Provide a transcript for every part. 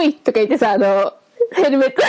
ほいとか言ってさ、ヘルメット。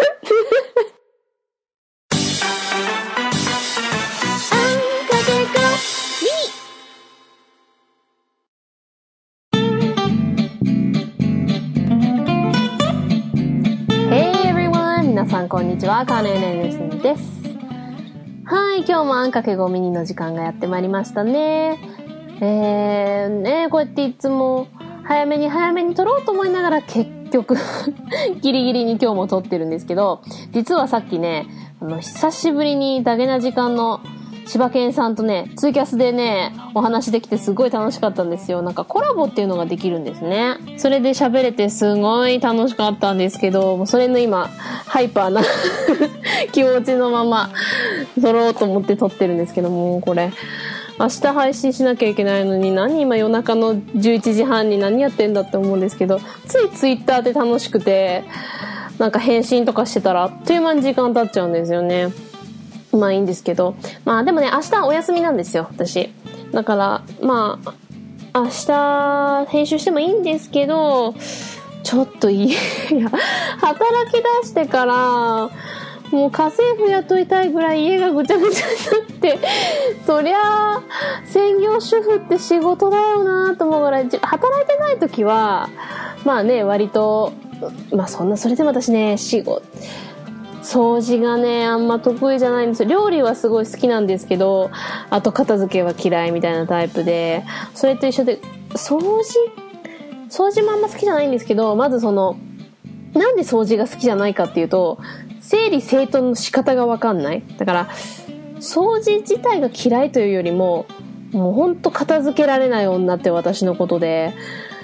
皆さんこんにちは、カーネーネーネスです。はい、今日もあんかけごミニの時間がやってまいりましたね。こうやっていつも早めに撮ろうと思いながら結局ギリギリに今日も撮ってるんですけど、実はさっきね、久しぶりにダゲな時間の柴犬さんとね、ツイキャスでね、お話できてすごい楽しかったんですよ。なんかコラボっていうのができるんですね。それで喋れてすごい楽しかったんですけど、もうそれの今、ハイパーな気持ちのまま撮ろうと思って撮ってるんですけども、これ、明日配信しなきゃいけないのに、今夜中の11時半に何やってんだって思うんですけど、ついツイッターで楽しくて、なんか返信とかしてたら、あっという間に時間経っちゃうんですよね。まあいいんですけど。まあでもね、明日お休みなんですよ、私。だから、まあ、明日編集してもいいんですけど、ちょっといや、働き出してから、もう家政婦雇いたいぐらい家がぐちゃぐちゃになって、そりゃあ、専業主婦って仕事だよなと思うぐらい、働いてない時は、まあね、割と、まあそれでも私ね、掃除がね、あんま得意じゃないんですよ。料理はすごい好きなんですけど、あと片付けは嫌いみたいなタイプで、それと一緒で、掃除もあんま好きじゃないんですけど、まずなんで掃除が好きじゃないかっていうと、整理整頓の仕方がわかんない。だから、掃除自体が嫌いというよりも、もうほんと片付けられない女って私のことで、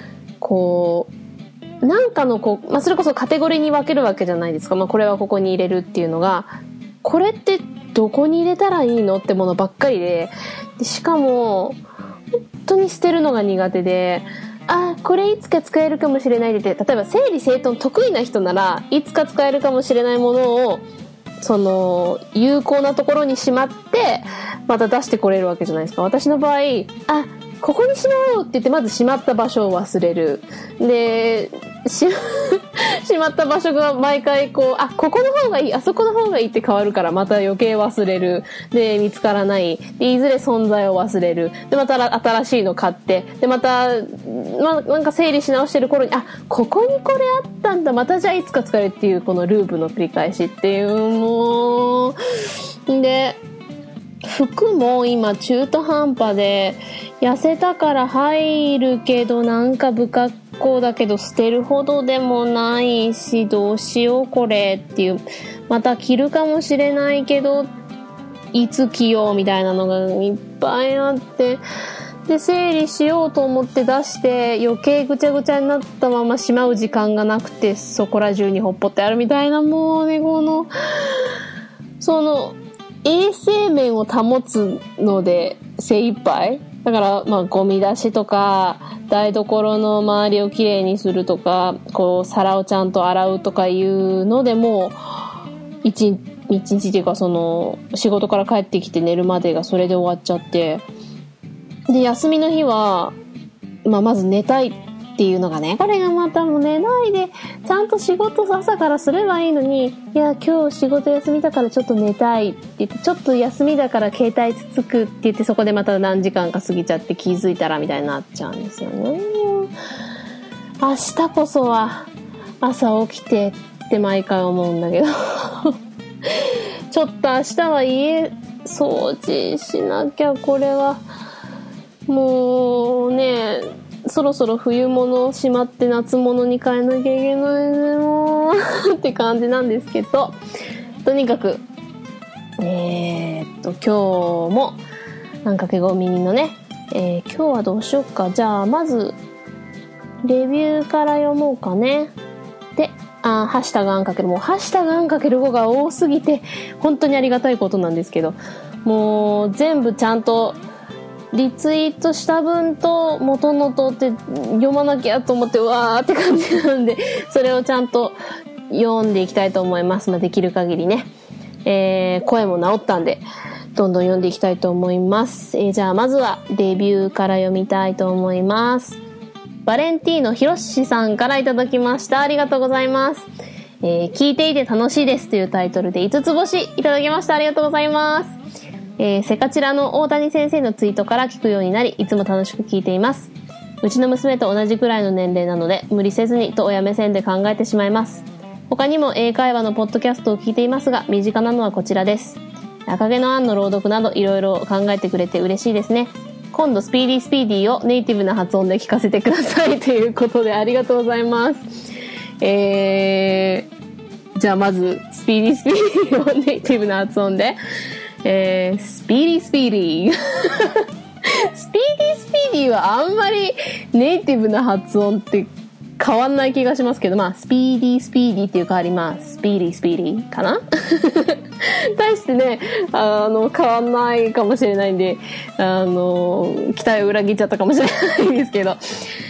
なんかのそれこそカテゴリーに分けるわけじゃないですか。これはここに入れるっていうのが、これってどこに入れたらいいのってものばっかりで、しかも、本当に捨てるのが苦手で、これいつか使えるかもしれないで、例えば整理整頓得意な人なら、いつか使えるかもしれないものを、有効なところにしまって、また出してこれるわけじゃないですか。私の場合、ここにしまおうって言って、まずしまった場所を忘れる。で、しまった場所が毎回ここの方がいい、あそこの方がいいって変わるから、また余計忘れる。で、見つからない。で、いずれ存在を忘れる。で、また新しいの買って。で、また、なんか整理し直してる頃に、ここにこれあったんだ。またじゃあいつか使えるっていう、このループの繰り返しっていう、もう、で、服も今中途半端で、痩せたから入るけどなんか不格好だけど捨てるほどでもないし、どうしようこれっていう、また着るかもしれないけどいつ着ようみたいなのがいっぱいあって、で整理しようと思って出して余計ぐちゃぐちゃになったまましまう時間がなくて、そこら中にほっぽってあるみたいな、もうね、衛生面を保つので精一杯だから、ゴミ出しとか台所の周りをきれいにするとか、皿をちゃんと洗うとかいうのでも一日っていうか、仕事から帰ってきて寝るまでがそれで終わっちゃって、で休みの日はまず寝たいっていうのがね、これがまたもう寝ないでちゃんと仕事朝からすればいいのに、いや今日仕事休みだからちょっと寝たいって言って、ちょっと休みだから携帯つつくって言って、そこでまた何時間か過ぎちゃって気づいたらみたいになっちゃうんですよね。明日こそは朝起きてって毎回思うんだけどちょっと明日は家掃除しなきゃ。これはもうね、そろそろ冬物をしまって夏物に変えなきゃいけないね、もうって感じなんですけど、とにかく今日もなんかけごミニのね、今日はどうしようか。じゃあまずレビューから読もうかね。で、ハッシュタグあんかける、もうハッシュタグあんかける5が多すぎて本当にありがたいことなんですけど、もう全部ちゃんとリツイートした分と元のとって読まなきゃと思ってわーって感じなんで、それをちゃんと読んでいきたいと思います。できる限りね、声も治ったんでどんどん読んでいきたいと思います。じゃあまずはレビューから読みたいと思います。 バレンティーノひろしさんからいただきました。ありがとうございます。聞いていて楽しいですというタイトルで5つ星いただきました。ありがとうございます。セカチラの大谷先生のツイートから聞くようになり、いつも楽しく聞いています。うちの娘と同じくらいの年齢なので、無理せずにと親目線で考えてしまいます。他にも英会話のポッドキャストを聞いていますが、身近なのはこちらです。赤毛のアンの朗読などいろいろ考えてくれて嬉しいですね。今度スピーディースピーディーをネイティブな発音で聞かせてくださいということで、ありがとうございます。じゃあまずスピーディースピーディーをネイティブな発音で、スピーディースピーディースピーディースピーディーはあんまりネイティブな発音って変わんない気がしますけど、まあスピーディースピーディーっていう代わり、まあスピーディースピーディーかな対してね、変わんないかもしれないんで、期待を裏切っちゃったかもしれないんですけど、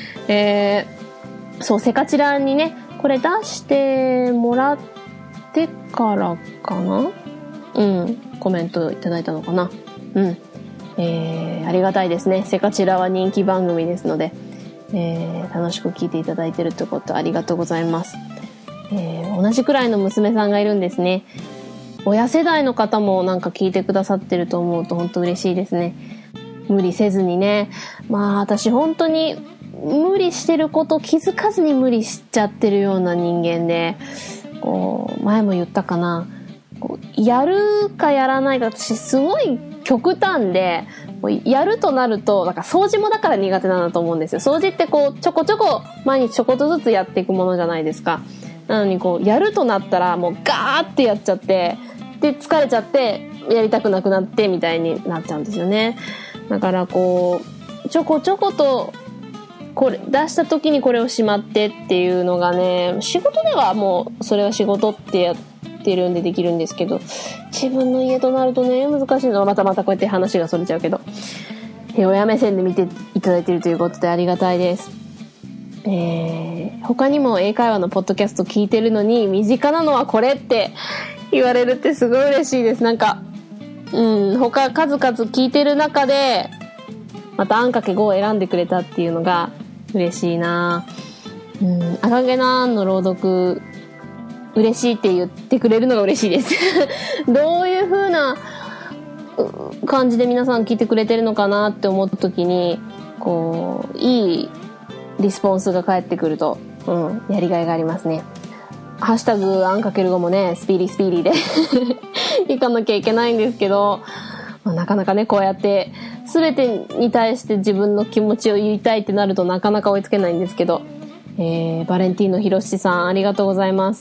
そう、セカチラにね、これ出してもらってからかな、コメントいただいたのかな。ありがたいですね。セカチラは人気番組ですので、楽しく聞いていただいてるってことありがとうございます。同じくらいの娘さんがいるんですね。親世代の方もなんか聞いてくださってると思うと本当嬉しいですね。無理せずにね。まあ私本当に無理してること気づかずに無理しちゃってるような人間で、こう前も言ったかな、こうやるかやらないか、私すごい極端で、やるとなるとなんか掃除もだから苦手なんだと思うんですよ。掃除ってこうちょこちょこ毎日ちょこっとずつやっていくものじゃないですか。なのにこうやるとなったらもうガーってやっちゃって、で疲れちゃってやりたくなくなってみたいになっちゃうんですよね。だからこうちょこちょことこれ出した時にこれをしまってっていうのがね、仕事ではもうそれは仕事ってやってるんでできるんですけど、自分の家となるとね難しいのはまたこうやって話がそれちゃうけど、親目線で見ていただいているということでありがたいです。他にも英会話のポッドキャスト聞いてるのに身近なのはこれって言われるってすごい嬉しいです。なんか他数々聞いてる中でまたあんかけ5を選んでくれたっていうのが嬉しいな。赤毛のアンの朗読嬉しいって言ってくれるのが嬉しいですどういう風な感じで皆さん聞いてくれてるのかなって思った時に、こういいリスポンスが返ってくると、やりがいがありますね。ハッシュタグあんかける5もね、スピーディースピーディーでいかなきゃいけないんですけど、なかなかねこうやって全てに対して自分の気持ちを言いたいってなるとなかなか追いつけないんですけど、バレンティーノひろしさんありがとうございます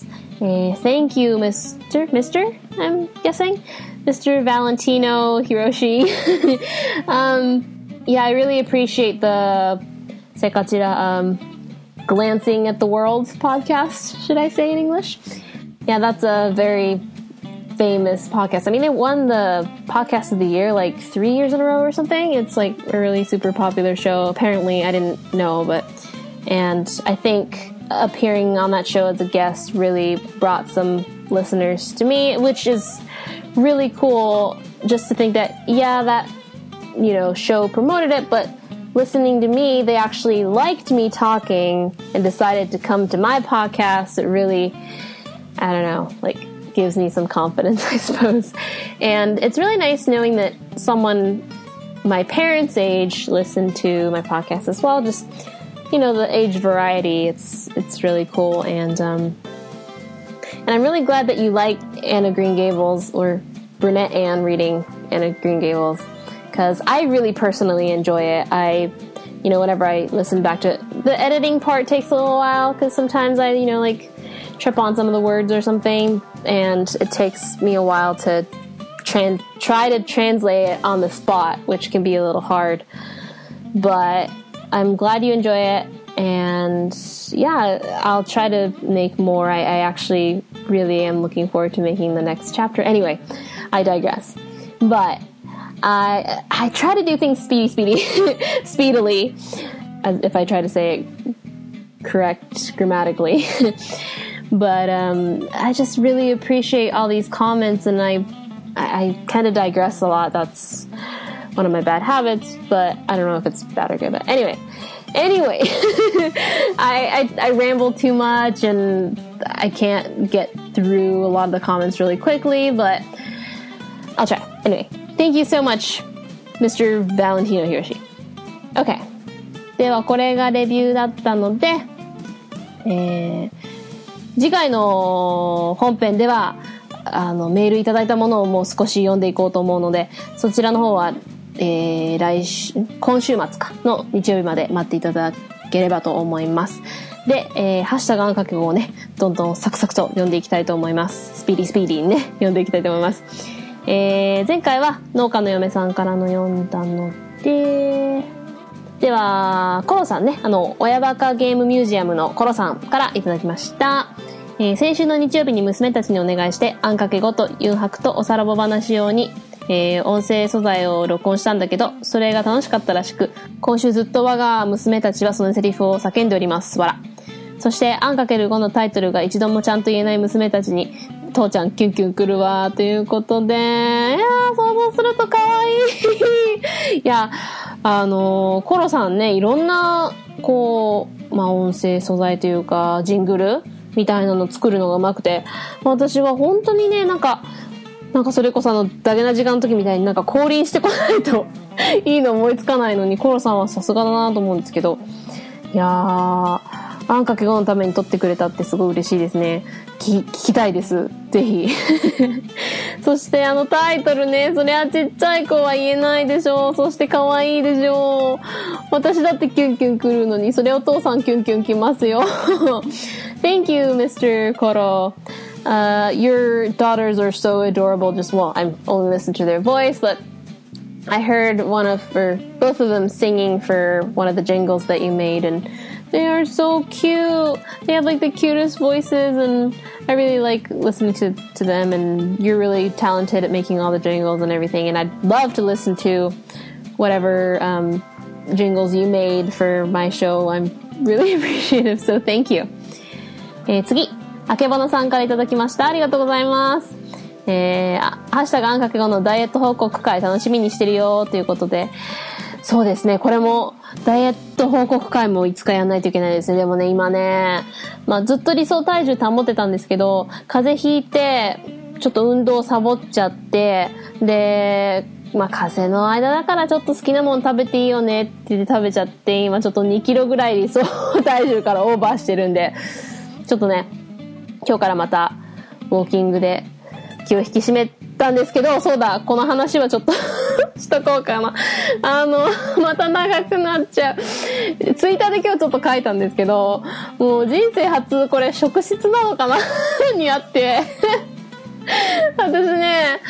。Thank you, Mr. I'm guessing Mr. Valentino Hiroshi. Yeah, I really appreciate the Sekachira glancing at the world podcast, should I say in English? Yeah, that's a very famous podcast. I mean, they won the podcast of the year like 3 years in a row or something. It's like a really super popular show. Apparently, I didn't know, and I think appearing on that show as a guest really brought some listeners to me, which is really cool. Just to think that, yeah, that, show promoted it, but listening to me, they actually liked me talking and decided to come to my podcast. It really, I don't know, gives me some confidence, I suppose. And it's really nice knowing that someone my parents' age listened to my podcast as well. Just, the age variety, it's really cool. And I'm really glad that you like Anna Green Gables, or Brunette Anne reading Anna Green Gables, because I really personally enjoy it. Whenever I listen back to it, the editing part takes a little while, because sometimes I, trip on some of the words or something, and it takes me a while to try to translate it on the spot, which can be a little hard. But I'm glad you enjoy it, and yeah, I'll try to make more. I actually really am looking forward to making the next chapter. Anyway, I digress. But I try to do things speedily, as if I try to say it correct grammatically. But I just really appreciate all these comments, and I kind of digress a lot. That's one of my bad habits, but I don't know if it's bad or good. But anyway, Anyway, I ramble too much and I can't get through a lot of the comments really quickly, but I'll try. Anyway, thank you so much, Mr. Valentino Hiroshi. Okay. ではこれがレビューだったので、次回の本編ではメールいただいたものをもう少し読んでいこうと思うので、そちらの方は、今週末かの日曜日まで待っていただければと思います。で、ハッシュタグあんかけ語をね、どんどんサクサクと読んでいきたいと思います。スピーディーにね、読んでいきたいと思います。前回は農家の嫁さんからの読んだので、では、コロさんね、親バカゲームミュージアムのコロさんからいただきました。先週の日曜日に娘たちにお願いして、あんかけ語とユンハクとおさらぼ話用に、音声素材を録音したんだけど、それが楽しかったらしく、今週ずっと我が娘たちはそのセリフを叫んでおります。わら。そして、あんかける5のタイトルが一度もちゃんと言えない娘たちに、父ちゃんキュンキュン来るわ、ということで、いやー、想像すると可愛い。いや、コロさんね、いろんな、音声素材というか、ジングルみたいなの作るのが上手くて、私は本当にね、なんかそれこそダゲな時間の時みたいに降臨してこないといいの思いつかないのに、コロさんはさすがだなと思うんですけど、いやー、あんかけ語のために撮ってくれたってすごい嬉しいですね。聞きたいです。ぜひ。そしてタイトルね、そりゃちっちゃい子は言えないでしょう。そして可愛いでしょう。私だってキュンキュン来るのに、それお父さんキュンキュン来ますよ。Thank you, Mr. Koro.Your daughters are so adorable. I'm only listening to their voice, but I heard both of them singing for one of the jingles that you made, and they are so cute. They have the cutest voices, and I really like listening to them, and you're really talented at making all the jingles and everything, and I'd love to listen to whatever jingles you made for my show. I'm really appreciative, so thank you. 次。あけぼのさんからいただきました。ありがとうございます。ハッシュタグあんかけ語のダイエット報告会楽しみにしてるよということで、そうですね、これもダイエット報告会もいつかやんないといけないですね。でもね、今ね、ずっと理想体重保ってたんですけど、風邪ひいてちょっと運動サボっちゃって、で、風邪の間だからちょっと好きなもの食べていいよねって言って食べちゃって、今ちょっと2キロぐらい理想体重からオーバーしてるんで、ちょっとね、今日からまたウォーキングで気を引き締めたんですけど、そうだ、この話はちょっとしとこうかな。また長くなっちゃう。ツイッターで今日ちょっと書いたんですけど、もう人生初これ職質なのかなにあって私ね、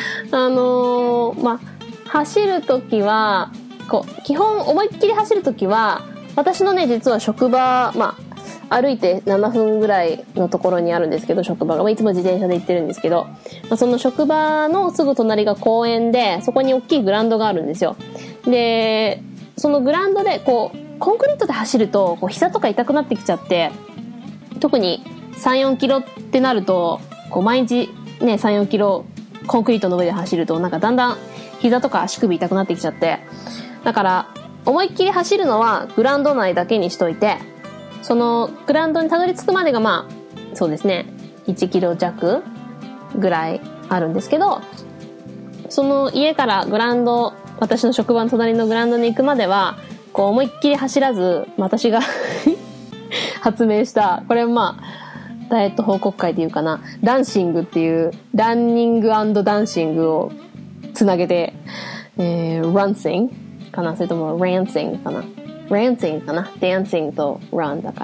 走るときは基本思いっきり走るときは、私のね、実は職場、歩いて7分ぐらいのところにあるんですけど、職場が。いつも自転車で行ってるんですけど、その職場のすぐ隣が公園で、そこに大きいグラウンドがあるんですよ。で、そのグラウンドで、コンクリートで走ると、膝とか痛くなってきちゃって、特に3、4キロってなると、毎日ね、3、4キロコンクリートの上で走ると、だんだん膝とか足首痛くなってきちゃって、だから、思いっきり走るのはグラウンド内だけにしといて、そのグラウンドにたどり着くまでがそうですね、1キロ弱ぐらいあるんですけど、その家からグラウンド、私の職場の隣のグラウンドに行くまでは、思いっきり走らず、私が発明した、これダイエット報告会っていうかな、ランシングっていう、ランニング&ダンシングをつなげて、ランシングかな、それともランシングかな。Rancing かな、dancing と run だから。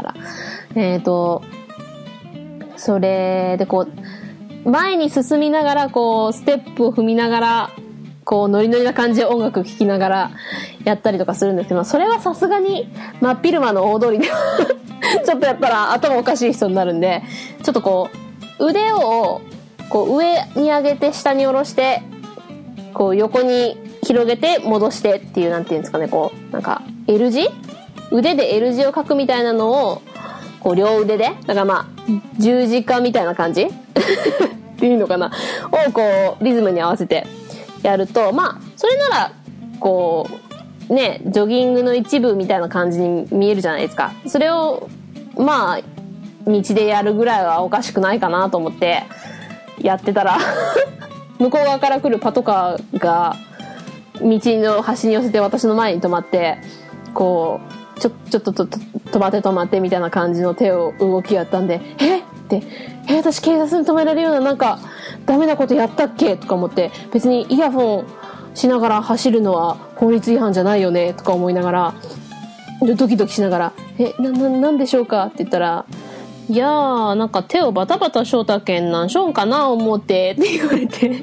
それで前に進みながら、ステップを踏みながら、ノリノリな感じで音楽聴きながらやったりとかするんですけど、それはさすがに、真っ昼間の大通りでちょっとやったら頭おかしい人になるんで、ちょっと腕を、上に上げて下に下ろして、横に広げて戻してっていう、なんていうんですかね、L 字？腕で L 字を書くみたいなのを、両腕で、だから十字架みたいな感じっていうのかなをリズムに合わせてやると、それなら、 ね、ジョギングの一部みたいな感じに見えるじゃないですか。それを、まあ、道でやるぐらいはおかしくないかなと思って、やってたら、向こう側から来るパトカーが、道の端に寄せて私の前に止まって、こう、ちょっと止まってみたいな感じの手を動きやったんで、私警察に止められるようななんかダメなことやったっけとか思って、別にイヤホンしながら走るのは法律違反じゃないよねとか思いながら、ドキドキしながら、なんでしょうかって言ったら、いやー、なんか手をバタバタしょうたけんなんしょんかな思ってって言われて、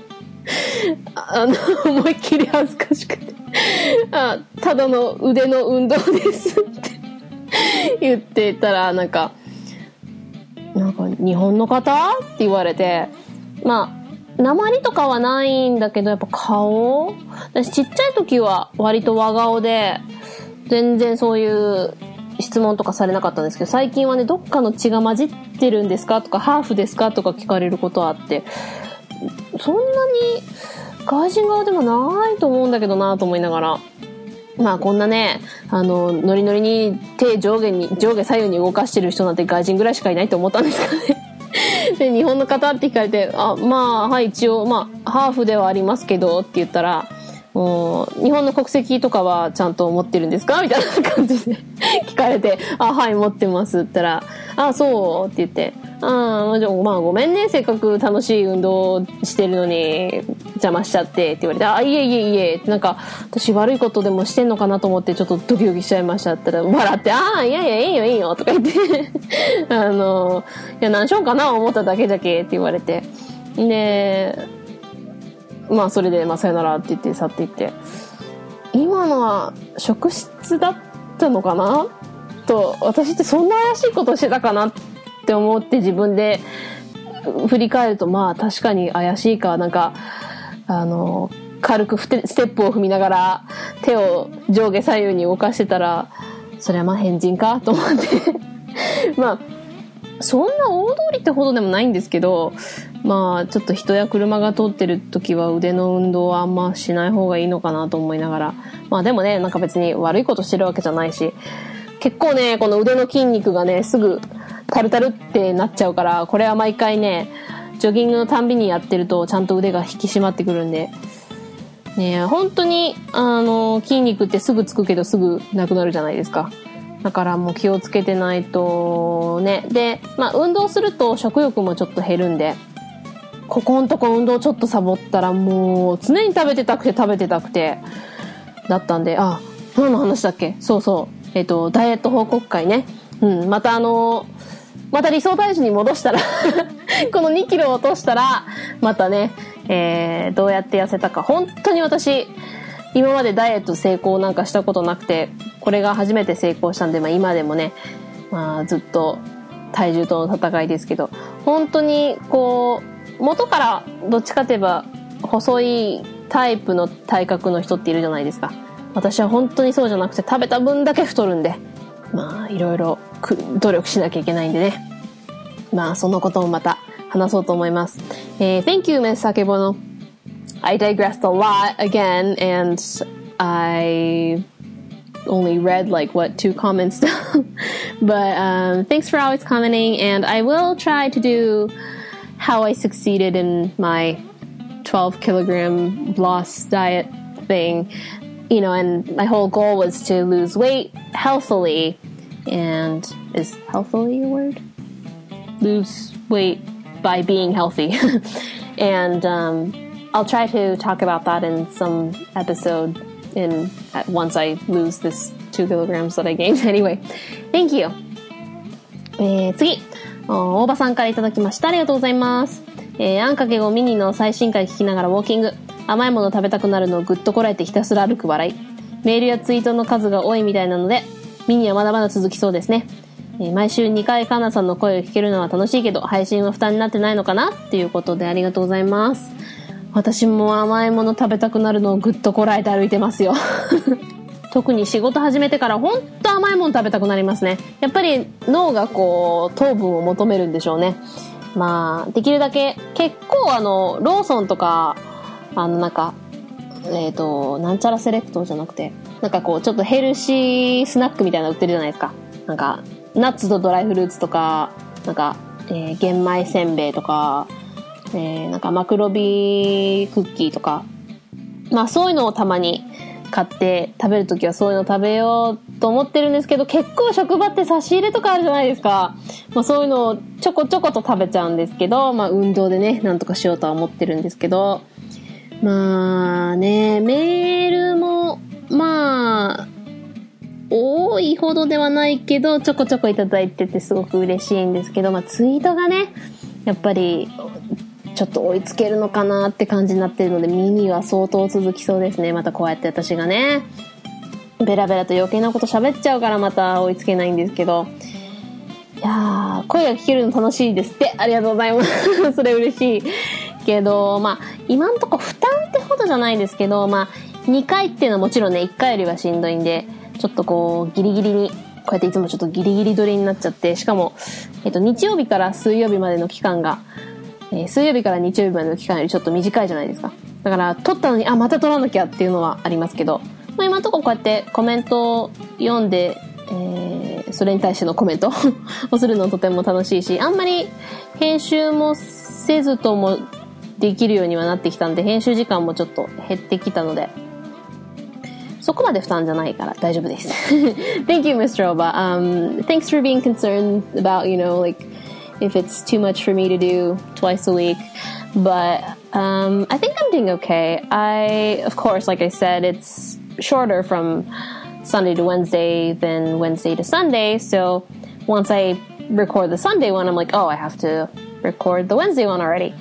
思いっきり恥ずかしくて、ただの腕の運動ですって言ってたら、なんか日本の方って言われて、まあ訛りとかはないんだけど、やっぱ顔、私ちっちゃい時は割と和顔で全然そういう質問とかされなかったんですけど、最近はね、どっかの血が混じってるんですかとか、ハーフですかとか聞かれることはあって、そんなに外人顔でもないと思うんだけどなと思いながら、まあこんなね、ノリノリに手上下左右に動かしてる人なんて外人ぐらいしかいないと思ったんですからね。で、日本の方って聞かれて、まあはい、一応まあハーフではありますけどって言ったら、日本の国籍とかはちゃんと持ってるんですかみたいな感じで聞かれて、はい持ってますって言ったら、そうって言って、まあごめんね、せっかく楽しい運動してるのに邪魔しちゃってって言われて、いえって、なんか私悪いことでもしてんのかなと思ってちょっとドキドキしちゃいましたって言ったら、笑って、いやいいよとか言っていや何しようかな思っただけじゃけって言われて、でまあそれでさよならって言って去っていって、今のは職質だったのかなと、私ってそんな怪しいことしてたかなって思って自分で振り返ると、まあ確かに怪しいか、なんか軽くステップを踏みながら手を上下左右に動かしてたら、それはまあ変人かと思ってまあそんな大通りってほどでもないんですけど、まあちょっと人や車が通ってる時は腕の運動はあんましない方がいいのかなと思いながら、まあでもね、なんか別に悪いことしてるわけじゃないし、結構ね、この腕の筋肉がね、すぐタルタルってなっちゃうから、これは毎回ね、ジョギングのたんびにやってるとちゃんと腕が引き締まってくるんで、ね、本当に筋肉ってすぐつくけどすぐなくなるじゃないですか。だからもう気をつけてないとね。で、まあ運動すると食欲もちょっと減るんで、ここんとこ運動ちょっとサボったらもう常に食べてたくてだったんで、何の話だっけ？そうそう。ダイエット報告会ね。また理想体重に戻したらこの2キロ落としたら、またね、どうやって痩せたか。本当に私、今までダイエット成功なんかしたことなくて、これが初めて成功したんで、まあ今でもね、まあずっと体重との戦いですけど、本当にこう、元からどっちかといえば細いタイプの体格の人っているじゃないですか。私は本当にそうじゃなくて、食べた分だけ太るんで、まあいろいろ努力しなきゃいけないんでね。まあそのこともまた話そうと思います。Thank you, Ms. Sakebono. I digressed a lot again, and I only read like 2 comments down. But thanks for always commenting, and I will try to do how I succeeded in my 12 kilogram loss diet thing. You know, and my whole goal was to lose weight healthily. And is healthily a word? Lose weight by being healthy. And I'll try to talk about that in some episode once I lose this 2 kilograms that I gained. Anyway, thank you. 次、大場さんからいただきました。ありがとうございます。あんかけごミニの最新回聞きながらウォーキング。甘いもの食べたくなるのをぐっとこらえてひたすら歩く笑い。メールやツイートの数が多いみたいなので、ミニはまだまだ続きそうですね。毎週2回カンナさんの声を聞けるのは楽しいけど、配信は負担になってないのかなっていうことでありがとうございます。私も甘いもの食べたくなるのをぐっとこらえて歩いてますよ。特に仕事始めてからほんと甘いもの食べたくなりますね。やっぱり脳がこう糖分を求めるんでしょうね。まあできるだけ結構ローソンとかなんかなんちゃらセレクトじゃなくてなんかこうちょっとヘルシースナックみたいなの売ってるじゃないですか。なんかナッツとドライフルーツとか、なんか、玄米せんべいとか、なんかマクロビクッキーとか、まあそういうのをたまに買って食べるときはそういうの食べようと思ってるんですけど、結構職場って差し入れとかあるじゃないですか。まあそういうのをちょこちょこと食べちゃうんですけど、まあ運動でね、なんとかしようとは思ってるんですけど、まあね、メールも、まあ、多いほどではないけど、ちょこちょこいただいててすごく嬉しいんですけど、まあツイートがね、やっぱり、ちょっと追いつけるのかなって感じになってるので、耳は相当続きそうですね。またこうやって私がね、ベラベラと余計なこと喋っちゃうからまた追いつけないんですけど、いやー、声が聞けるの楽しいですって。ありがとうございます。それ嬉しい。けど、まあ、今んとこ負担ってほどじゃないですけど、まあ、2回っていうのはもちろんね、1回よりはしんどいんで、ちょっとこう、ギリギリに、こうやっていつもちょっとギリギリ撮りになっちゃって、しかも、日曜日から水曜日までの期間が、水曜日から日曜日までの期間よりちょっと短いじゃないですか。だから、撮ったのに、また撮らなきゃっていうのはありますけど、まあ今のところこうやってコメントを読んで、それに対してのコメントをするのとても楽しいし、あんまり編集もせずともできるようにはなってきたんで、編集時間もちょっと減ってきたので、そこまで負担じゃないから大丈夫です。Thank you, Mr. Oba. Thanks for being concerned about, like, if it's too much for me to do twice a week. But I think I'm doing okay. Of course, like I said, it's shorter from Sunday to Wednesday than Wednesday to Sunday. So once I record the Sunday one, I'm like, I have to record the Wednesday one already.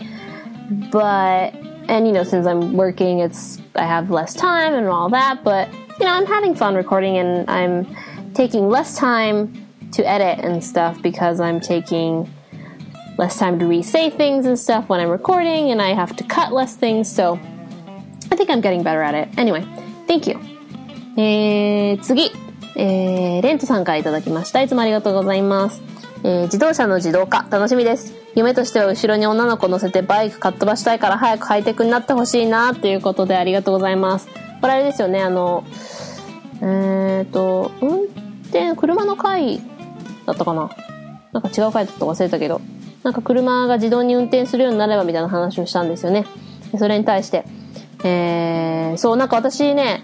And since I'm working, I have less time and all that, but I'm having fun recording, and I'm taking less time to edit and stuff because I'm taking less time to re-say things and stuff when I'm recording, and I have to cut less things, so I think I'm getting better at it. Anyway, thank you. 次、レントさんからいただきました。いつもありがとうございます。自動車の自動化楽しみです。夢としては後ろに女の子乗せてバイクかっ飛ばしたいから早くハイテクになってほしいなということでありがとうございます。これあれですよね、車の回だったかな、なんか違う回だったか忘れたけど、なんか車が自動に運転するようになればみたいな話をしたんですよね。それに対して、なんか私ね、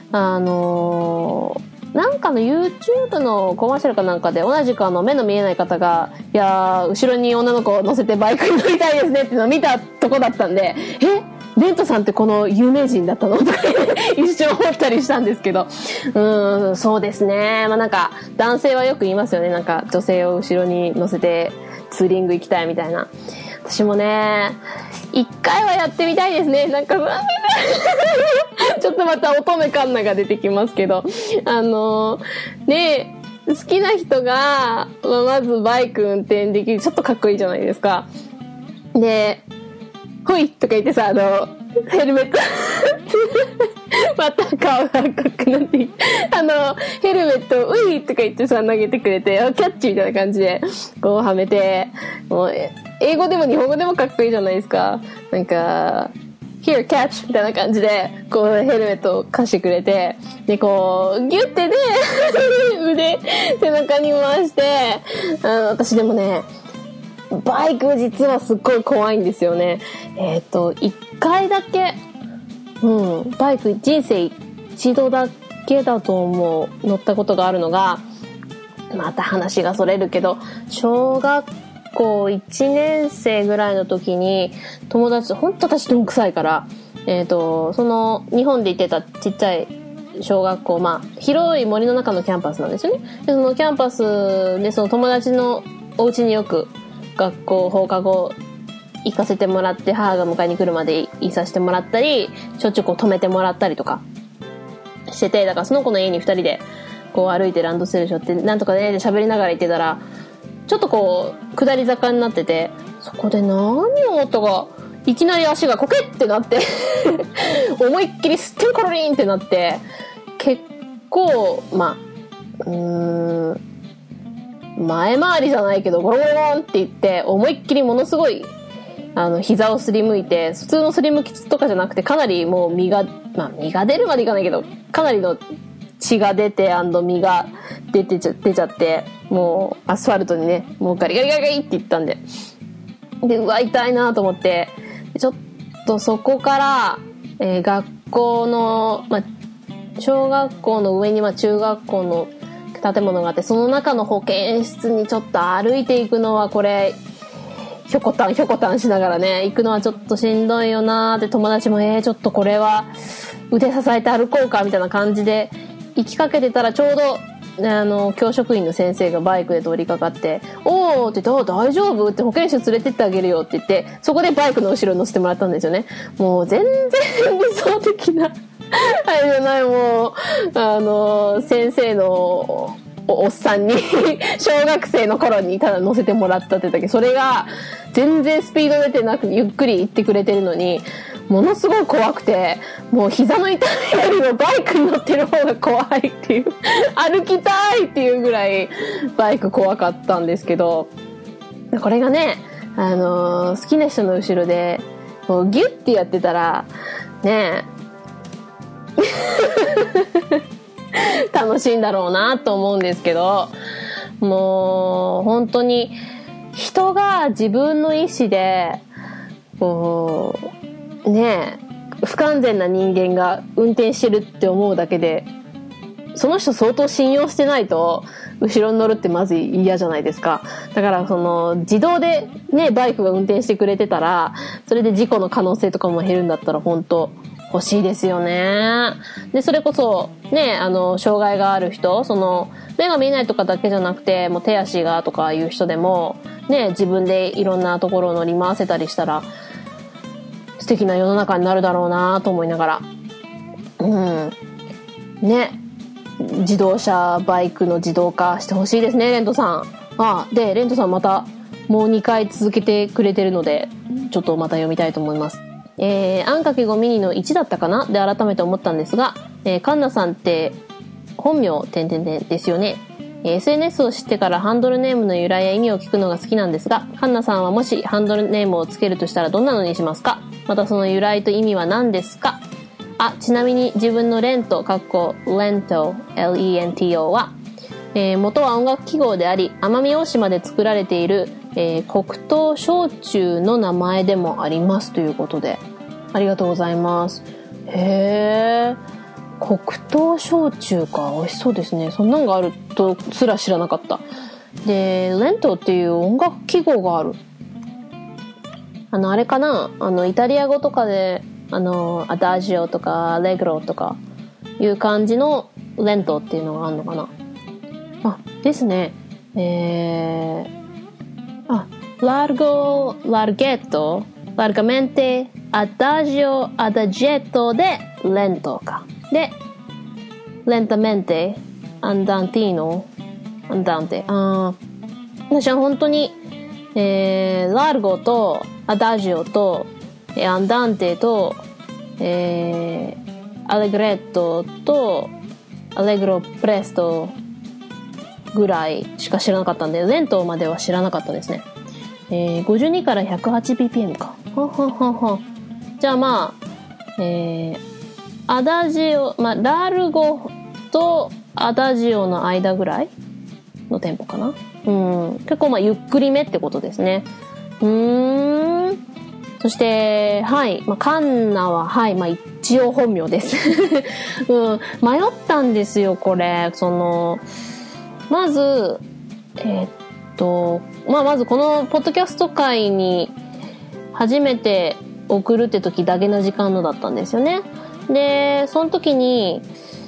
なんかの YouTube のコマーシャルかなんかで同じく目の見えない方が、いやー、後ろに女の子を乗せてバイクに乗りたいですねっていうのを見たとこだったんで、レントさんってこの有名人だったのとか一瞬思ったりしたんですけど、そうですね。まあなんか男性はよく言いますよね。なんか女性を後ろに乗せてツーリング行きたいみたいな。私もね、一回はやってみたいですね。なんかちょっとまた乙女カンナが出てきますけど、ね、好きな人が、まずバイク運転できる、ちょっとかっこいいじゃないですか。で、ほいとか言ってさ、ヘルメットまた顔が赤くなってヘルメットをういとか言ってさ投げてくれて、キャッチみたいな感じでこうはめて、もう英語でも日本語でもかっこいいじゃないですか。なんかHere, catch! みたいな感じで、こうヘルメットを貸してくれて、で、こう、ギュッてね、腕、背中に回して、私でもね、バイク実はすっごい怖いんですよね。一回だけ、バイク人生一度だけだと思う、乗ったことがあるのが、また話がそれるけど、小学校1年生ぐらいの時に友達、ほんと私どんくさいから、その日本で行ってたちっちゃい小学校、まあ広い森の中のキャンパスなんですよね。でそのキャンパスでその友達のお家によく学校放課後行かせてもらって、母が迎えに来るまでいさせてもらったり、しょっちゅうこう止めてもらったりとかしてて、だからその子の家に2人でこう歩いてランドセル背負ってなんとかねで喋りながら行ってたら、ちょっとこう下り坂になってて、そこで何を思ったかいきなり足がコケってなって思いっきりステンコロリンってなって、結構前回りじゃないけどゴロゴロゴロンって言って思いっきりものすごい膝をすりむいて、普通のすりむきとかじゃなくてかなりもう身が出るまでいかないけどかなりの血が出て実が出ちゃって、もうアスファルトにね、もうガリガリガリガリっていったんで、うわ痛いなと思って、ちょっとそこから、学校の、小学校の上に中学校の建物があって、その中の保健室にちょっと歩いていくのはこれひょこたんしながらね行くのはちょっとしんどいよなーって、友達もちょっとこれは腕支えて歩こうかみたいな感じで行きかけてたら、ちょうど教職員の先生がバイクで通りかかって、おーって言って、大丈夫って、保健室連れてってあげるよって言って、そこでバイクの後ろに乗せてもらったんですよね。もう全然理想的なあれじゃない、もう先生のおっさんに小学生の頃にただ乗せてもらったってだけ、それが全然スピード出てなくゆっくり行ってくれてるのに、ものすごい怖くて、もう膝の痛みよりもバイクに乗ってる方が怖いっていう歩きたいっていうぐらいバイク怖かったんですけど、これがね、好きな人の後ろでこうギュッてやってたらね楽しいんだろうなと思うんですけど、もう本当に人が自分の意思でこうね不完全な人間が運転してるって思うだけで、その人相当信用してないと後ろに乗るってまず嫌じゃないですか。だから自動でねバイクが運転してくれてたら、それで事故の可能性とかも減るんだったら本当欲しいですよね。でそれこそね障害がある人、目が見えないとかだけじゃなくて、もう手足がとかいう人でもね、自分でいろんなところを乗り回せたりしたら素敵な世の中になるだろうなと思いながら、ね、自動車バイクの自動化してほしいですね、レントさん。でレントさんまたもう2回続けてくれてるので、ちょっとまた読みたいと思います。あんかけ5ミニの1だったかなで改めて思ったんですが、カンナさんって本名ですよね。SNS を知ってからハンドルネームの由来や意味を聞くのが好きなんですが、カンナさんはもしハンドルネームをつけるとしたらどんなのにしますか？またその由来と意味は何ですか？ちなみに自分のレント（Lento LENTO） は、元は音楽記号であり、奄美大島で作られている、黒糖焼酎の名前でもありますということで、ありがとうございます。へー、黒糖焼酎か、美味しそうですね。そんなんがあるとすら知らなかった。で、レントっていう音楽記号がある。あれかな、イタリア語とかでアダジオとかアレグロとかいう感じのレントっていうのがあるのかな。ですね。largo, larghetto, largamente, adagio, adagietto でレントか。で、lentamente, andantino, andante。私は本当に、largo と adagio とアンダンテと、アレグレットとアレグロプレストぐらいしか知らなかったんで、レントまでは知らなかったですね。52から 108bpm か。じゃあアダジオ、ラルゴとアダジオの間ぐらいのテンポかな。結構ゆっくりめってことですね。そして、カンナは、一応本名です。迷ったんですよ、これ。まず、まずこのポッドキャスト界に初めて送るって時だけな時間のだったんですよね。で、その時に、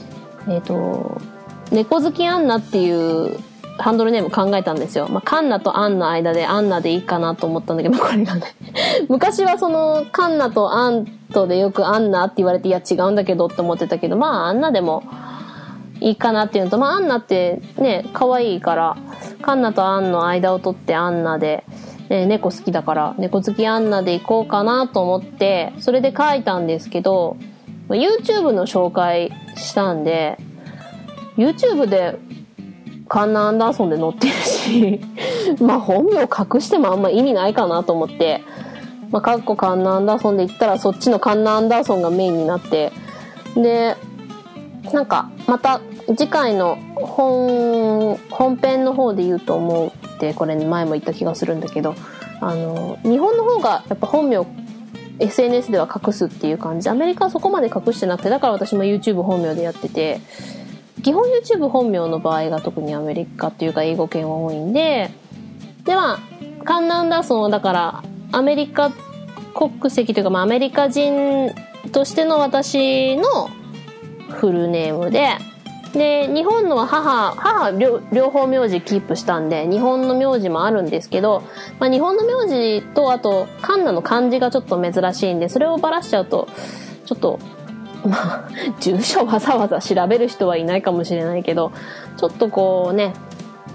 猫好きアンナっていうハンドルネーム考えたんですよ。カンナとアンの間でアンナでいいかなと思ったんだけど、これがね。昔はカンナとアンとでよくアンナって言われて、いや違うんだけどって思ってたけど、アンナでもいいかなっていうのと、アンナってね、可愛いから、カンナとアンの間を取ってアンナで、猫好きだから、猫好きアンナでいこうかなと思って、それで書いたんですけど、YouTube の紹介したんで、YouTube でカンナ・アンダーソンで載ってるし本名隠してもあんま意味ないかなと思って、カッコカンナ・アンダーソンで言ったらそっちのカンナ・アンダーソンがメインになって、でまた次回の本編の方で言うと思うって、これ前も言った気がするんだけど、日本の方がやっぱ本名 SNS では隠すっていう感じ。アメリカはそこまで隠してなくて、だから私も YouTube 本名でやってて、基本 YouTube 本名の場合が特にアメリカっていうか英語圏は多いんで、ではカン・アンダーソンはだからアメリカ国籍というか、アメリカ人としての私のフルネームで、日本のは母両方名字キープしたんで、日本の名字もあるんですけど、日本の名字と、あと、カンナの漢字がちょっと珍しいんで、それをばらしちゃうと、ちょっと、住所わざわざ調べる人はいないかもしれないけど、ちょっとこうね、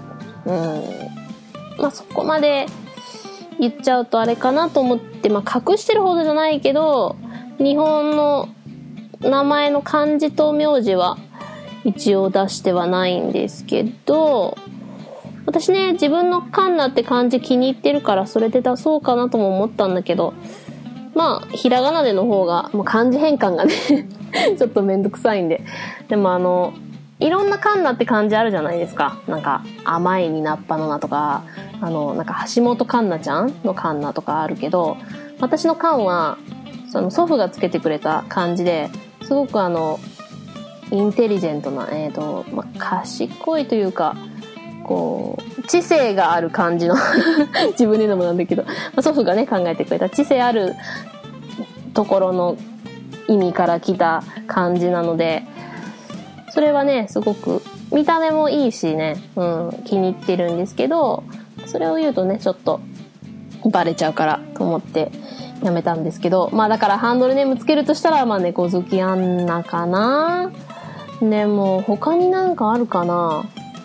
そこまで言っちゃうとあれかなと思って、隠してるほどじゃないけど、日本の名前の漢字と名字は、一応出してはないんですけど、私ね、自分のカンナって漢字気に入ってるからそれで出そうかなとも思ったんだけど、ひらがなでの方が、漢字変換がねちょっとめんどくさいんで。でもいろんなカンナって漢字あるじゃないですか。なんか、甘いになっぱのなとか、なんか橋本環奈ちゃんのカンナとかあるけど、私のカンは、祖父がつけてくれた漢字で、すごくインテリジェントな、賢いというか、こう、知性がある感じの自分で言うのもなんだけど、祖父がね、考えてくれた知性あるところの意味から来た漢字なので、それはね、すごく見た目もいいしね、気に入ってるんですけど、それを言うとね、ちょっとバレちゃうからと思ってやめたんですけど、だからハンドルネームつけるとしたら、猫好きアンナかな。でも他になんかあるかな。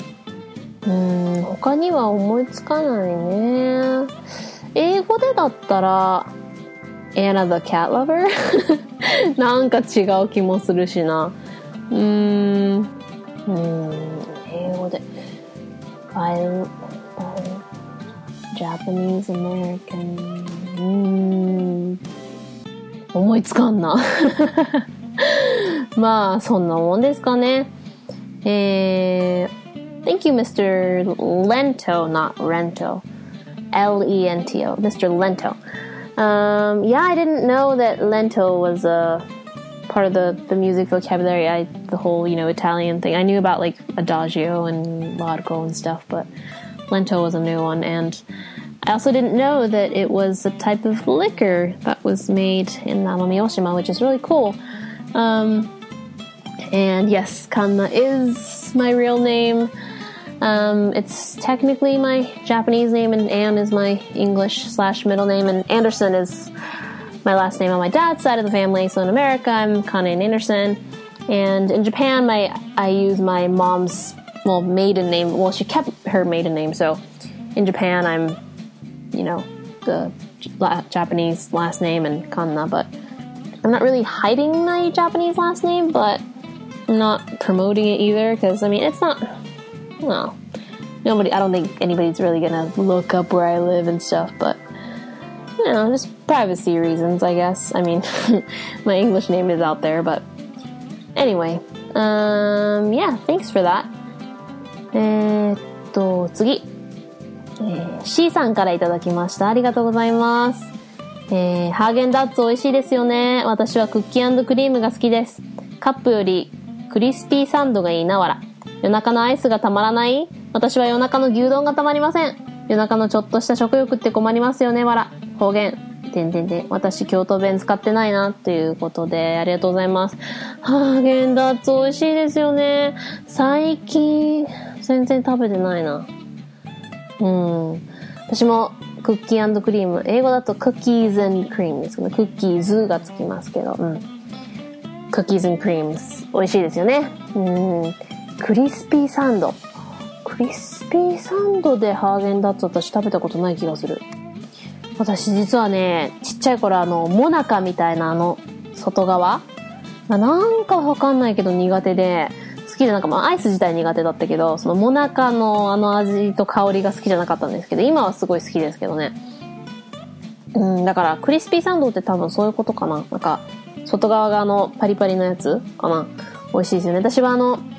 他には思いつかないね。英語でだったら Anna the Cat Lover なんか違う気もするしな。英語でJapanese American 思いつかんなそんなもんですかね。Thank you, Mr. Lento, not Rento. Lento, Mr. Lento. Yeah, I didn't know that Lento was a part of the music vocabulary. The whole, Italian thing. I knew about like Adagio and Largo and stuff, but Lento was a new one. And I also didn't know that it was a type of liquor that was made in Amami-Oshima, which is really cool. And yes, Kanna is my real name. It's technically my Japanese name, and Anne is my English/middle name, and Anderson is my last name on my dad's side of the family. So in America, I'm Kanna Anderson. And in Japan, I use my mom's, maiden name. Well, she kept her maiden name. So in Japan, I'm, the Japanese last name and Kanna, but I'm not really hiding my Japanese last name, but I'm not promoting it either, because, it's not, I don't think anybody's really gonna look up where I live and stuff, but, just privacy reasons, I guess. My English name is out there, but anyway, yeah, thanks for that. 次。C さんからいただきました。ありがとうございます。ハーゲンダッツ美味しいですよね。私はクッキー&クリームが好きです。カップよりクリスピーサンドがいいなわら。夜中のアイスがたまらない？私は夜中の牛丼がたまりません。夜中のちょっとした食欲って困りますよねわら。方言。私京都弁使ってないなということで、ありがとうございます。ハーゲンダッツ美味しいですよね。最近全然食べてないな。私もクッキー&クリーム、英語だとクッキーズ&クリームですけど、クッキーズがつきますけど、クッキーズ&クリーム美味しいですよね。クリスピーサンドでハーゲンダッツ私食べたことない気がする。私実はね、ちっちゃい頃モナカみたいな外側なんかわかんないけど苦手で、好きでアイス自体苦手だったけど、そのモナカの味と香りが好きじゃなかったんですけど、今はすごい好きですけどね。だからクリスピーサンドって多分そういうことかな。なんか外側がパリパリのやつかな。美味しいですよね。私は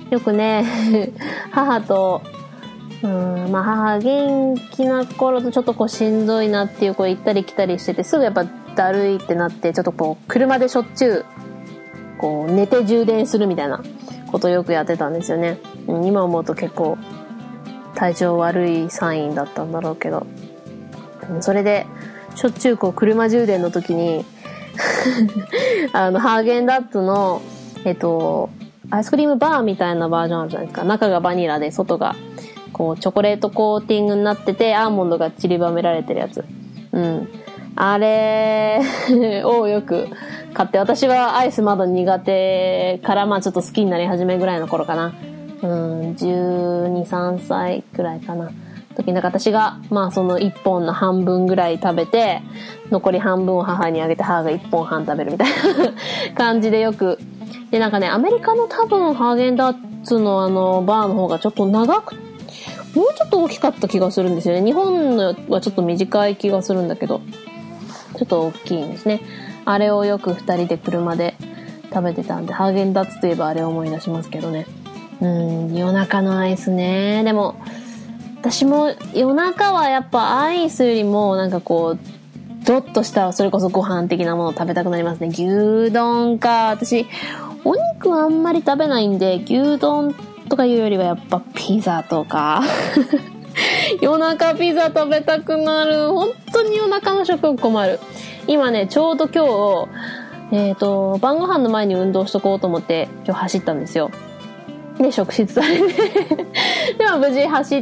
よくね、母と、まあ母元気な頃とちょっとこうしんどいなっていうこう行ったり来たりしてて、すぐやっぱだるいってなって、ちょっとこう車でしょっちゅうこう寝て充電するみたいなことをよくやってたんですよね。今思うと結構体調悪いサインだったんだろうけど、それでしょっちゅうこう車充電の時にハーゲンダッツのアイスクリームバーみたいなバージョンあるじゃないですか。中がバニラで外がこうチョコレートコーティングになってて、アーモンドが散りばめられてるやつ。あれをよく買って、私はアイスまだ苦手から、まあちょっと好きになり始めぐらいの頃かな。12、3歳くらいかな。時になんか私が、まあその1本の半分ぐらい食べて、残り半分を母にあげて、母が1本半食べるみたいな感じでよく。で、なんかね、アメリカの多分ハーゲンダッツのバーの方がちょっと長く、もうちょっと大きかった気がするんですよね。日本のはちょっと短い気がするんだけど、ちょっと大きいんですね。あれをよく2人で車で食べてたんで、ハーゲンダッツといえばあれを思い出しますけどね。夜中のアイスね。でも、私も夜中はやっぱアイスよりもなんかこう、ドッとしたそれこそご飯的なものを食べたくなりますね。牛丼か。私、お肉はあんまり食べないんで、牛丼とかいうよりはやっぱピザとか。夜中ピザ食べたくなる。本当に夜中の食欲困る。今ね、ちょうど今日、晩ご飯の前に運動しとこうと思って今日走ったんですよ。で、職質されて。でも無事走って、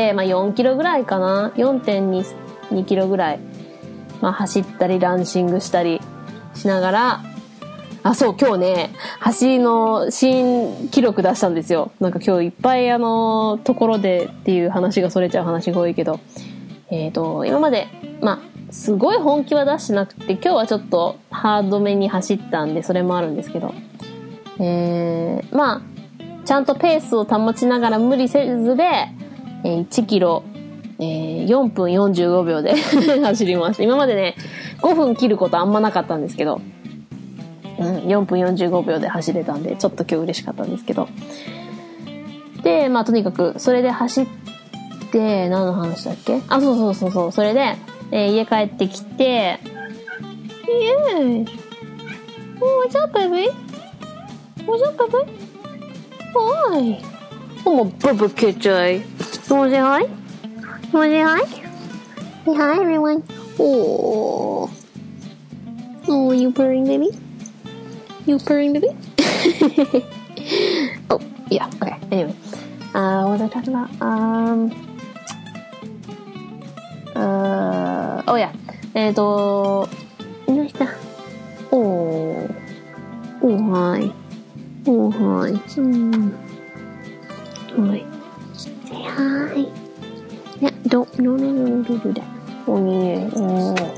まあ4キロぐらいかな。4.2 キロぐらい。まあ走ったりランシングしたりしながら、そう、今日ね、走りの新記録出したんですよ。なんか今日いっぱいところでっていう話がそれちゃう話が多いけど、今まで、まあ、すごい本気は出してなくて、今日はちょっとハードめに走ったんで、それもあるんですけど、まあ、ちゃんとペースを保ちながら無理せずで、1キロ、4分45秒で走りました。今までね、5分切ることあんまなかったんですけど、4分45秒で走れたんで、ちょっと今日嬉しかったんですけど。で、まあとにかく、それで走って、何の話だっけ？そう。それで、家帰ってきて、Yes! Oh, what's up, baby? What's up, baby? Hi! Oh, my Bubba Kitty. You wanna say hi? You wanna say hi? Say hi, everyone. Oh, you purring, baby?You purring, baby? Oh, yeah, okay. Anyway. What was I talking about? Oh, yeah. いました。Oh, hi. Oh, hi. Hi. Say hi. Yeah, no, do that. Oh, yeah.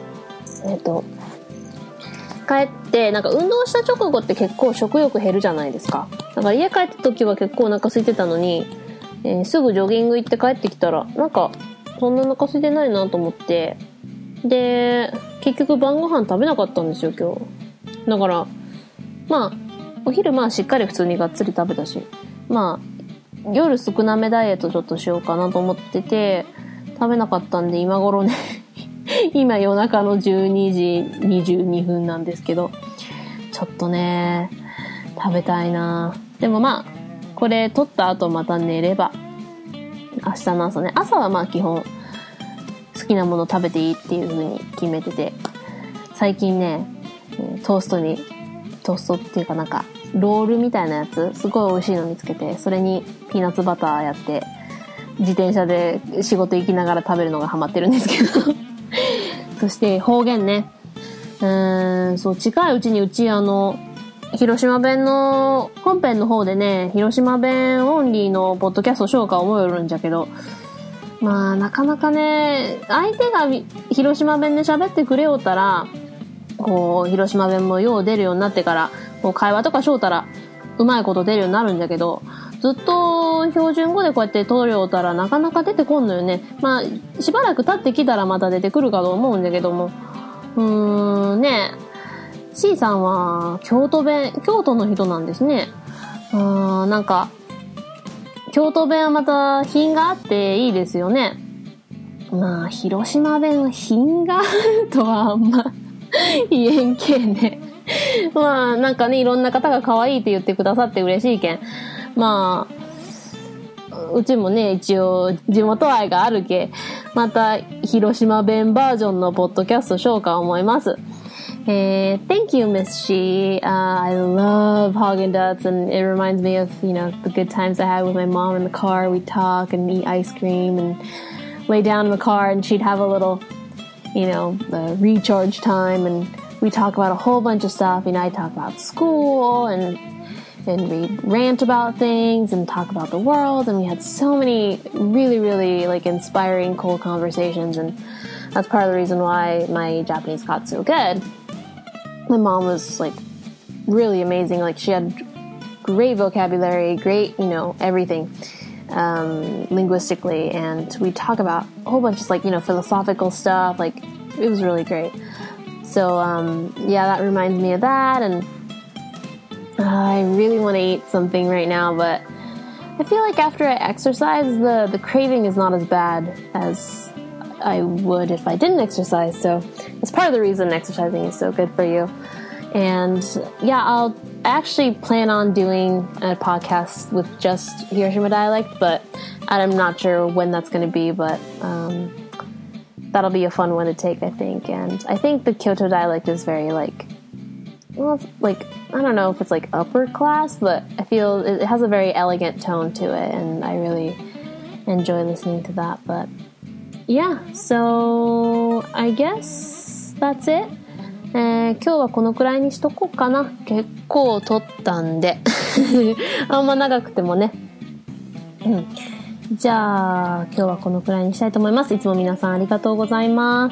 帰ってなんか運動した直後って結構食欲減るじゃないですか。だから家帰った時は結構お腹空いてたのに、すぐジョギング行って帰ってきたらなんかそんなお腹空いてないなと思って、で結局晩ご飯食べなかったんですよ今日。だからまあお昼まあしっかり普通にがっつり食べたし、まあ夜少なめダイエットちょっとしようかなと思ってて食べなかったんで、今頃ね今夜中の12時22分なんですけど、ちょっとね食べたいな。でもまあこれ撮った後また寝れば明日の朝ね、朝はまあ基本好きなもの食べていいっていう風に決めてて、最近ねトーストっていうかなんかロールみたいなやつすごい美味しいの見つけて、それにピーナッツバターやって自転車で仕事行きながら食べるのがハマってるんですけどそして方言ね。そう、近いうちにうち広島弁の本編の方でね、広島弁オンリーのポッドキャストしようか思うよるんじゃけど、まあなかなかね、相手が広島弁で喋ってくれようたら、こう、広島弁もよう出るようになってから、こう会話とかしようたら、うまいこと出るようになるんだけど、ずっと標準語でこうやって通りようたらなかなか出てこんのよね。まあ、しばらく経ってきたらまた出てくるかと思うんだけども。ねえ。C さんは京都の人なんですね。なんか、 京都弁はまた品があっていいですよね。まあ、広島弁は品があるとはあんま言えんけね。まあ、なんかね、いろんな方が可愛いって言ってくださって嬉しいけん。まあ、うちもね、一応地元愛があるけ、また広島弁バージョンのポッドキャストしようか思います。Thank you, Miss Shi. I love Haagen-Dazs, and it reminds me of, the good times I had with my mom in the car. We'd talk and eat ice cream and lay down in the car, and she'd have a little, recharge time, and we talk about a whole bunch of stuff. I talk about school, and we'd rant about things and talk about the world, and we had so many really, really, inspiring, cool conversations, and that's part of the reason why my Japanese got so good. My mom was, really amazing. She had great vocabulary, great, everything, linguistically, and we talk about a whole bunch of, philosophical stuff. It was really great. So, that reminds me of that, and I really want to eat something right now, but I feel like after I exercise, the craving is not as bad as I would if I didn't exercise, so it's part of the reason exercising is so good for you. And I'll actually plan on doing a podcast with just Hiroshima dialect, but I'm not sure when that's going to be, but that'll be a fun one to take, I think. And I think the Kyoto dialect is very I don't know if it's upper class, but I feel it has a very elegant tone to it, and I really enjoy listening to that. But so I guess that's it. 今日はこのくらいにしとこうかな。結構撮ったんであんま長くてもね。じゃあ今日はこのくらいにしたいと思います。いつも皆さんありがとうございます。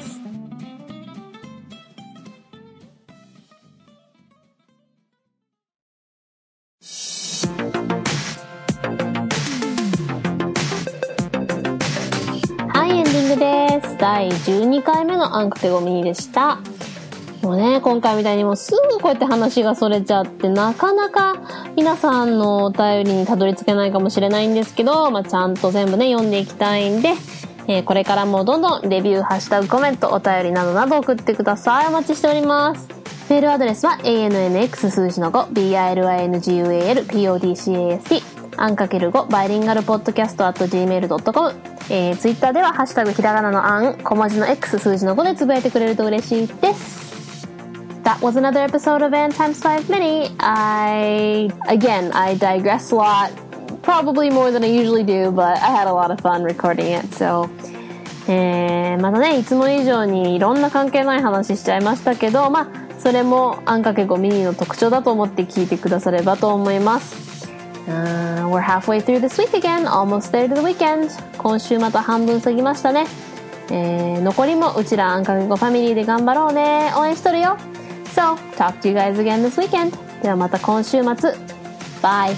エンディングです。第12回目のあんかけごミニでした。もうね、今回みたいにもうすぐこうやって話がそれちゃって、なかなか皆さんのお便りにたどり着けないかもしれないんですけど、ちゃんと全部ね、読んでいきたいんで、これからもどんどんレビュー、ハッシュタグ、コメント、お便りなどなど送ってください。お待ちしております。メールアドレスは ANNX 数字の5 BILINGUALPODCAST あんかける5バイリンガルポッドキャスト @gmail.com、ツイッターではハッシュタグひらがなのあん小文字の X 数字の5でつぶやいてくれると嬉しいです。That was another episode of Ann Times 5 Mini. I digress a lot, probably more than I usually do, but I had a lot of fun recording it. So, またね、いつも以上にいろんな関係ない話しちゃいましたけど、それもあんかけ5ミニの特徴だと思って聞いてくださればと思います。We're halfway through this week again, almost there to the weekend. 今週また半分過ぎましたね。残りもうちらあんかけ5ファミリーで頑張ろうね。応援しとるよ。So, talk to you guys again this weekend. ではまた今週末。Bye!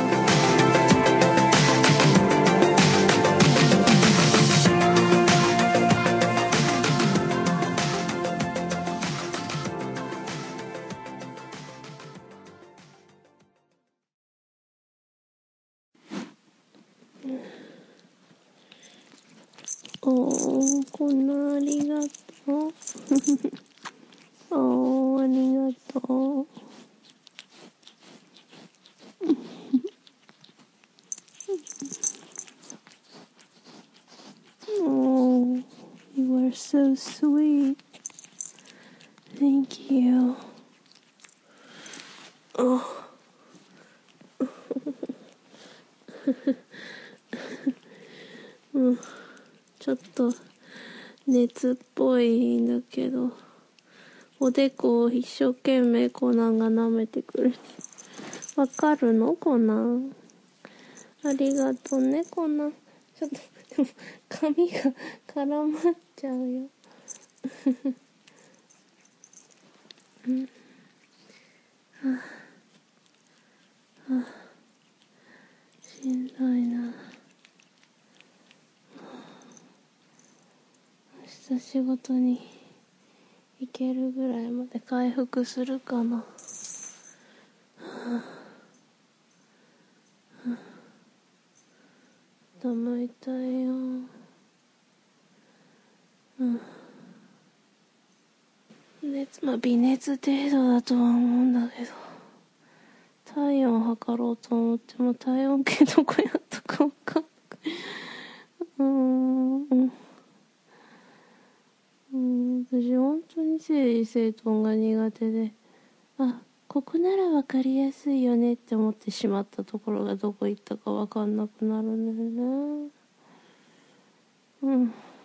こんなありがとう。ありがとう。Oh, you are so sweet. Thank you. Oh. ちょっと熱っぽいんだけど、おでこを一生懸命コナンが舐めてくれて、わかるのコナン？ありがとうねコナン。ちょっとでも髪が絡まっちゃうよ。しんどいな。明日仕事に行けるぐらいまで回復するかな。 頭痛いよ。微熱程度だとは思うんだけど、体温測ろうと思っても体温計どこやったか分かんない。私本当に整理整頓が苦手で、ここなら分かりやすいよねって思ってしまったところがどこ行ったか分かんなくなるんだよね。